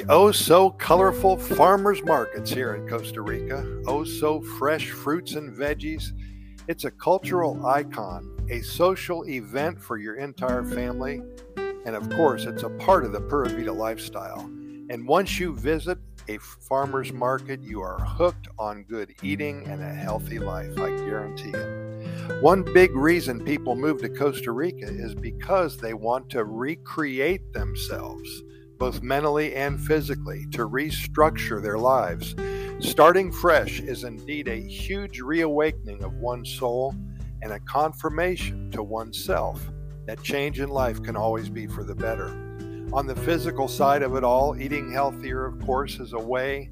oh so colorful farmers markets here in Costa Rica. Oh so fresh fruits and veggies. It's a cultural icon, a social event for your entire family, and of course, it's a part of the Pura Vida lifestyle. And once you visit a farmer's market, you are hooked on good eating and a healthy life, I guarantee it. One big reason people move to Costa Rica is because they want to recreate themselves, both mentally and physically, to restructure their lives. Starting fresh is indeed a huge reawakening of one's soul and a confirmation to oneself that change in life can always be for the better. On the physical side of it all, eating healthier, of course, is way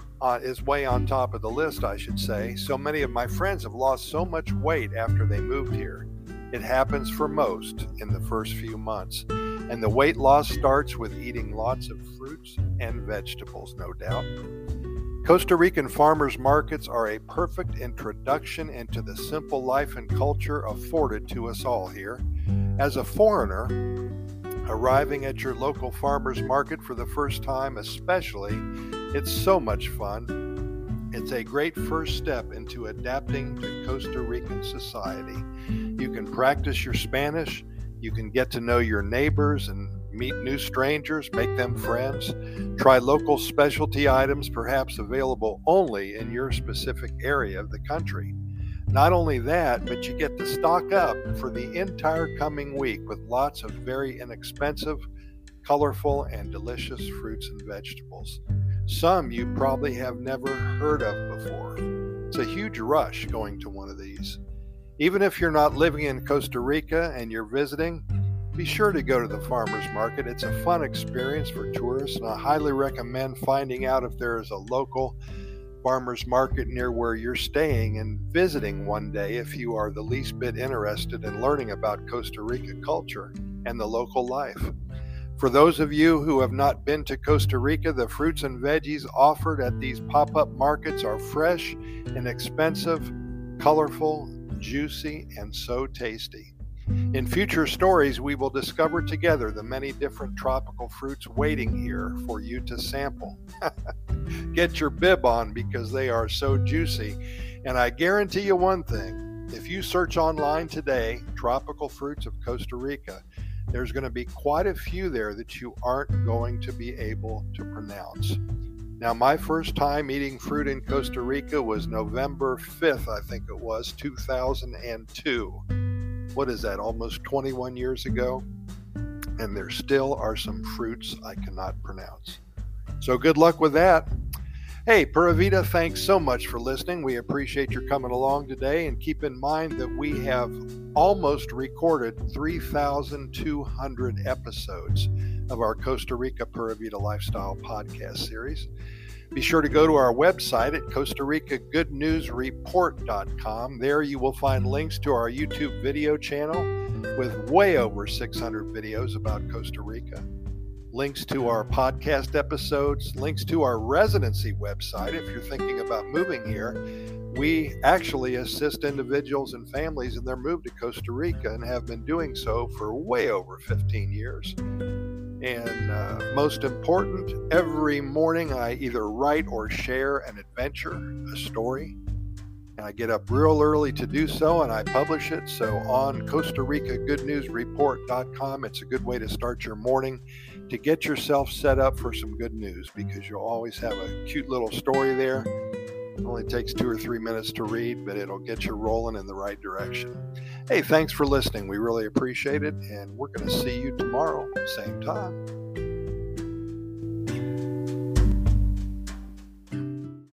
on top of the list, I should say. So many of my friends have lost so much weight after they moved here. It happens for most in the first few months. And the weight loss starts with eating lots of fruits and vegetables, no doubt. Costa Rican farmers markets are a perfect introduction into the simple life and culture afforded to us all here. As a foreigner, arriving at your local farmers market for the first time especially, it's so much fun. It's a great first step into adapting to Costa Rican society. You can practice your Spanish, you can get to know your neighbors and meet new strangers, make them friends, try local specialty items perhaps available only in your specific area of the country. Not only that, but you get to stock up for the entire coming week with lots of very inexpensive, colorful, and delicious fruits and vegetables. Some you probably have never heard of before. It's a huge rush going to one of these. Even if you're not living in Costa Rica and you're visiting, be sure to go to the farmers market. It's a fun experience for tourists, and I highly recommend finding out if there is a local farmers market near where you're staying and visiting one day if you are the least bit interested in learning about Costa Rica culture and the local life. For those of you who have not been to Costa Rica, the fruits and veggies offered at these pop-up markets are fresh, inexpensive, colorful, juicy, and so tasty. In future stories, we will discover together the many different tropical fruits waiting here for you to sample. Get your bib on because they are so juicy. And I guarantee you one thing, if you search online today, tropical fruits of Costa Rica, there's going to be quite a few there that you aren't going to be able to pronounce. Now, my first time eating fruit in Costa Rica was November 5th, I think it was, 2002. What is that, almost 21 years ago? And there still are some fruits I cannot pronounce. So good luck with that. Hey, Pura Vida, thanks so much for listening. We appreciate your coming along today, and keep in mind that we have almost recorded 3,200 episodes of our Costa Rica Pura Vida Lifestyle podcast series. Be sure to go to our website at CostaRicaGoodNewsReport.com. There you will find links to our YouTube video channel with way over 600 videos about Costa Rica, links to our podcast episodes, links to our residency website if you're thinking about moving here. We actually assist individuals and families in their move to Costa Rica and have been doing so for way over 15 years. And most important, every morning I either write or share an adventure, a story, and I get up real early to do so, and I publish it. So on CostaRicaGoodNewsReport.com, it's a good way to start your morning to get yourself set up for some good news, because you'll always have a cute little story there. It only takes 2 or 3 minutes to read, but it'll get you rolling in the right direction. Hey, thanks for listening. We really appreciate it, and we're going to see you tomorrow, same time.